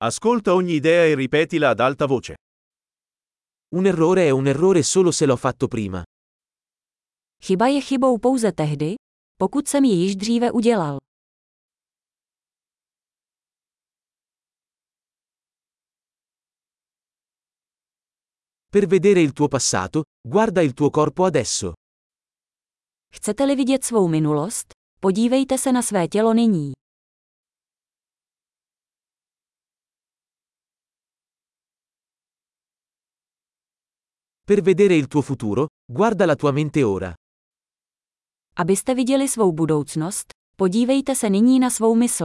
Ascolta ogni idea e ripetila ad alta voce. Un errore è un errore solo se l'ho fatto prima. Chyba je chybou pouze tehdy, pokud jsem ji již dříve udělal. Per vedere il tuo passato, guarda il tuo corpo adesso. Chcete-li vidět svou minulost? Podívejte se na své tělo nyní. Per vedere il tuo futuro, guarda la tua mente ora. Abyste viděli svou budoucnost, podívejte se nyní na svou mysl.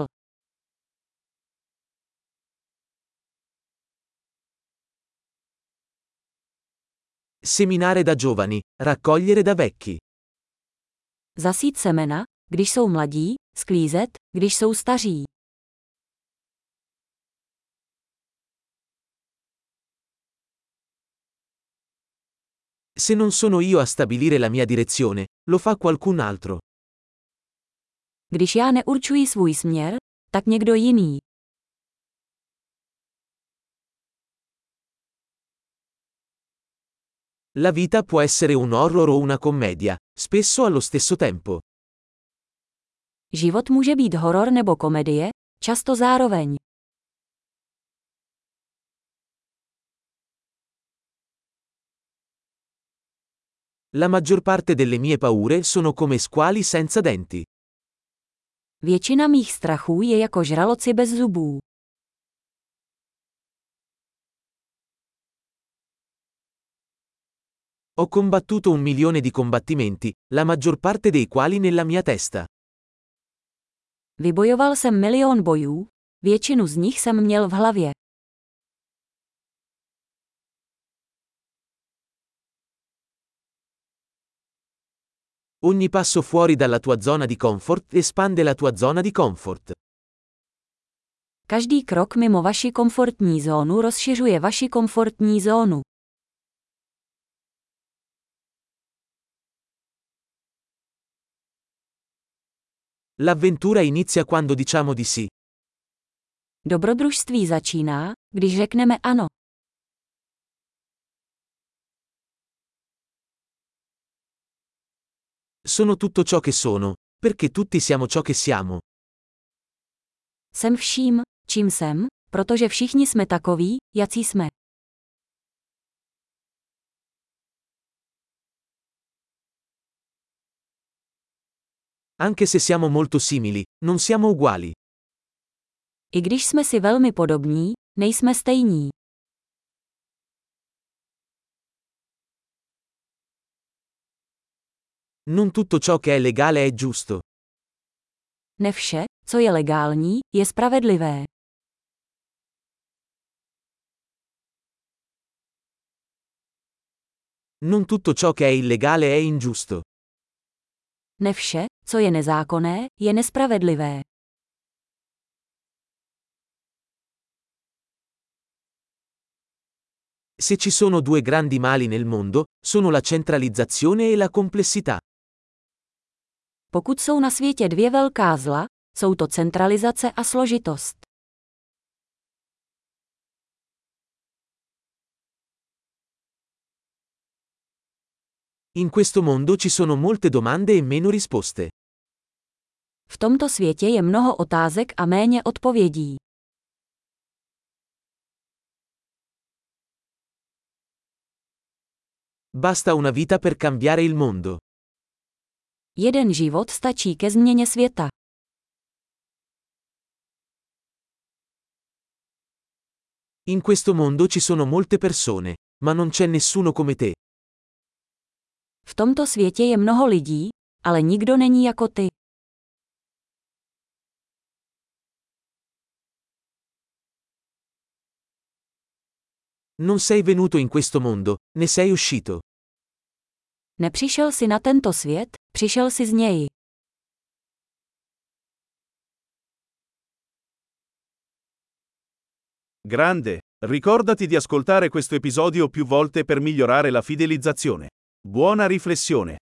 Seminare da giovani, raccogliere da vecchi. Zasít semena, když jsou mladí, sklízet, když jsou staří. Se non sono io a stabilire la mia direzione, lo fa qualcun altro. Když já neurčuji svůj směr, tak někdo jiný. La vita può essere un horror o una commedia, spesso allo stesso tempo. Život může být horor nebo komedie, často zároveň. La maggior parte delle mie paure sono come squali senza denti. Většina mých strachů je jako žraloci bez zubů. Ho combattuto 1 milione di combattimenti, la maggior parte dei quali nella mia testa. Vybojoval jsem milion bojů, většinu z nich jsem měl v hlavě. Ogni passo fuori dalla tua zona di comfort espande la tua zona di comfort. Každý krok mimo vaši komfortní zónu rozšiřuje vaši komfortní zónu. L'avventura inizia quando diciamo di sì. Dobrodružství začíná, když řekneme ano. Sono tutto ciò che sono, perché tutti siamo ciò che siamo. Jsem vším, čím jsem, protože všichni jsme takoví, jací jsme. Anche se siamo molto simili, non siamo uguali. I když jsme si velmi podobní, nejsme stejní. Non tutto ciò che è legale è giusto. Ne vše, co je legální, je spravedlivé. Non tutto ciò che è illegale è ingiusto. Ne vše, co je nezákonné, je nespravedlivé. Se ci sono due grandi mali nel mondo, sono la centralizzazione e la complessità. Pokud jsou na světě dvě velká zla, jsou to centralizace a složitost. In questo mondo ci sono molte domande e meno risposte. V tomto světě je mnoho otázek a méně odpovědí. Basta una vita per cambiare il mondo. Jeden život stačí ke změně světa. In questo mondo ci sono molte persone, ma non c'è nessuno come te. V tomto světě je mnoho lidí, ale nikdo není jako ty. Non sei venuto in questo mondo, ne sei uscito. Nepřišel si na tento svět, přišel si z něj. Grande, ricordati di ascoltare questo episodio più volte per migliorare la fidelizzazione. Buona riflessione.